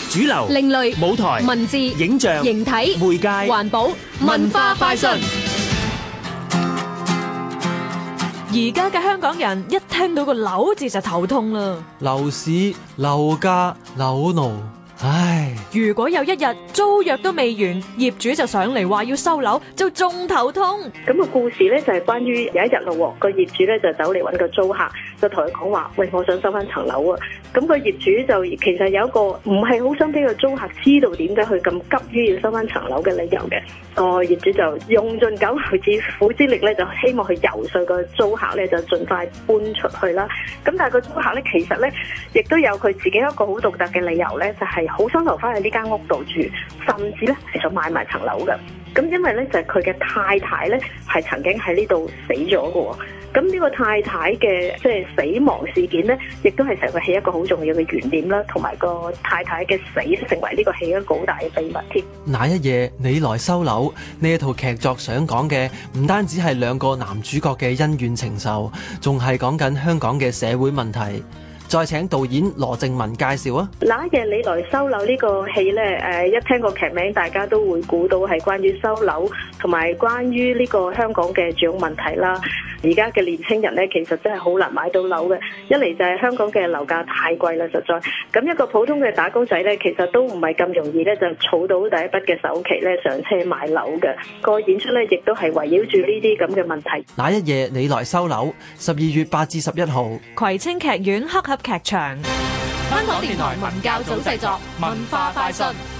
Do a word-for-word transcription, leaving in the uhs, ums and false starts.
主流、 另類舞台、 文字、 影像、 形體、 媒介、 環保、文化快訊。 而家嘅香港人一聽到個樓字就頭痛啦。 樓市、樓價、樓奴，唉！ 如果有一日租約都未完，業主就上嚟話要收樓，就仲頭痛。 咁個故事咧就係關於有一日咯，個業主咧就走嚟搵個租客，就同佢講話：喂，我想收翻層樓啊！咁個業主就其實有一個唔係好想俾個租客知道點解佢咁急於要收翻層樓嘅理由嘅。個業主就用盡九牛之苦之力咧，就希望去游說個租客咧就盡快搬出去啦。咁但係個租客咧其實咧亦都有佢自己一個好獨特嘅理由咧，就係好想留翻喺呢間屋度住，甚至咧係想買埋層樓嘅。咁因為咧就係佢嘅太太咧係曾經喺呢度死咗嘅。咁呢個太太嘅即係死亡事件咧，亦都係成個戲一個好重要嘅懸念啦，同埋個太太嘅死成為呢個戲一個好大嘅秘密添。 那一夜你來收樓，呢一套劇作想講嘅唔單止係兩個男主角嘅恩怨情仇，仲係講緊香港嘅社會問題。再請導演羅靜雯介紹啊！ 那一夜你來收樓呢個戲呢，誒一聽個劇名，大家都會估到係關於收樓，同埋關於呢個香港嘅住屋問題啦。而家嘅年輕人呢，其實真係好難買到樓嘅。一嚟就係香港嘅樓價太貴啦，實在。咁一個普通嘅打工仔呢，其實都唔係咁容易呢，就儲到第一筆嘅首期呢，上車買樓嘅。個演出呢，亦都係圍繞住呢啲咁嘅問題。 那一夜你來收樓，十二月八至十一號， 葵青劇院黑盒劇場。 香港電台文教組製作，文化快訊。